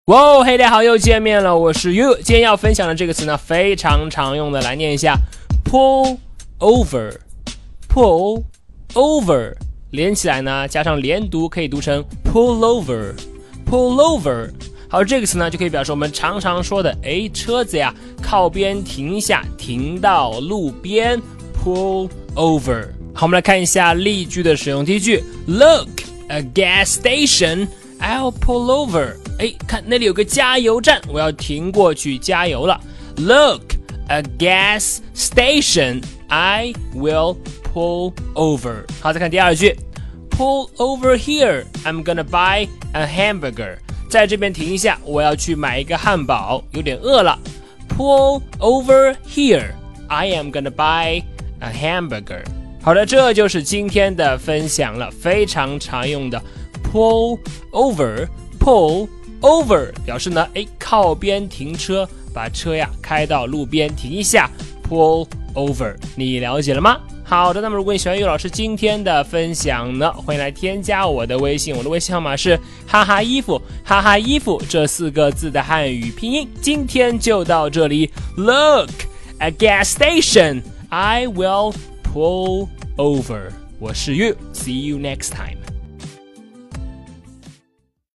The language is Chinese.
哇哦，嘿，大家好，又见面了，我是 You。今天要分享的这个词呢，非常常用的，来念一下 pull over，pull over， 连起来呢，加上连读可以读成 pull over，pull over。好，这个词呢就可以表示我们常常说的，车子呀靠边停一下，停到路边 pull over。好，我们来看一下例句的使用。第一句 ，Look, a gas station.I'll pull over. 看那里有个加油站，我要停过去加油了。Look, a gas station. I will pull over. 好，再看第二句 ，Pull over here. I'm gonna buy a hamburger. 在这边停一下，我要去买一个汉堡，有点饿了。Pull over here. I am gonna buy a hamburger. 好的，这就是今天的分享了，非常常用的。Pull over 表示呢，靠边停车，把车呀开到路边停一下 ，pull over， 你了解了吗？好的，那么如果你喜欢岳老师今天的分享呢，欢迎来添加我的微信，我的微信号码是哈哈衣服，哈哈衣服这4个字的汉语拼音。今天就到这里 ，Look at gas station, I will pull over。我是 You，see you next time。